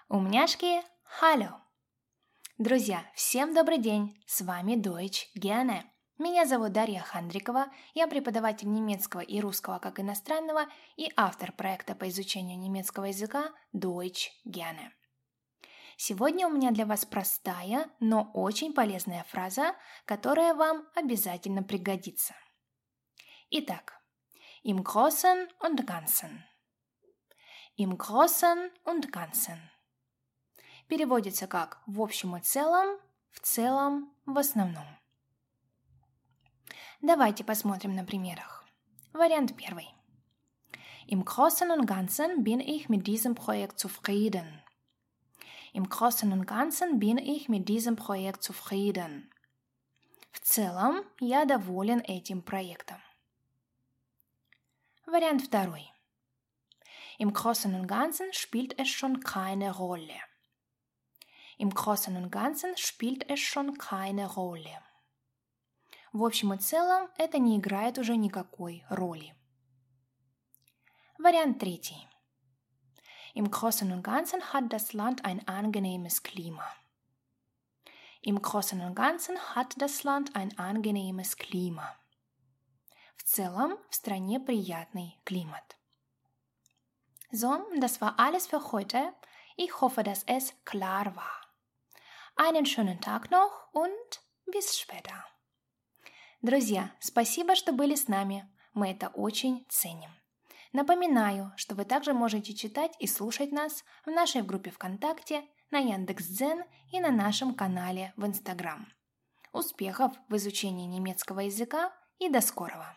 Умняшки, hallo! Друзья, всем добрый день! С вами Deutsch gerne. Меня зовут Дарья Хандрикова, я преподаватель немецкого и русского как иностранного и автор проекта по изучению немецкого языка Deutsch gerne. Сегодня у меня для вас простая, но очень полезная фраза, которая вам обязательно пригодится. Итак, im Großen und Ganzen. Im Großen und Ganzen. Переводится как «в общем и целом», «в целом», «в основном». Давайте посмотрим на примерах. Вариант первый. Im Großen und Ganzen bin ich mit diesem Projekt zufrieden. Im Großen und Ganzen bin ich mit diesem Projekt zufrieden. В целом, я доволен этим проектом. Вариант второй. Im Großen und Ganzen spielt es schon keine Rolle. Im Großen und Ganzen spielt es schon keine Rolle. В общем и целом, это не играет уже никакой роли. Вариант третий. Im Großen und Ganzen hat das Land ein angenehmes Klima. Im Großen und Ganzen hat das Land ein angenehmes Klima. В целом, в стране приятный климат. So, das war alles für heute. Ich hoffe, dass es klar war. Einen schönen Tag noch und bis später. Друзья, спасибо, что были с нами. Мы это очень ценим. Напоминаю, что вы также можете читать и слушать нас в нашей группе ВКонтакте, на Яндекс.Дзен и на нашем канале в Инстаграм. Успехов в изучении немецкого языка и до скорого!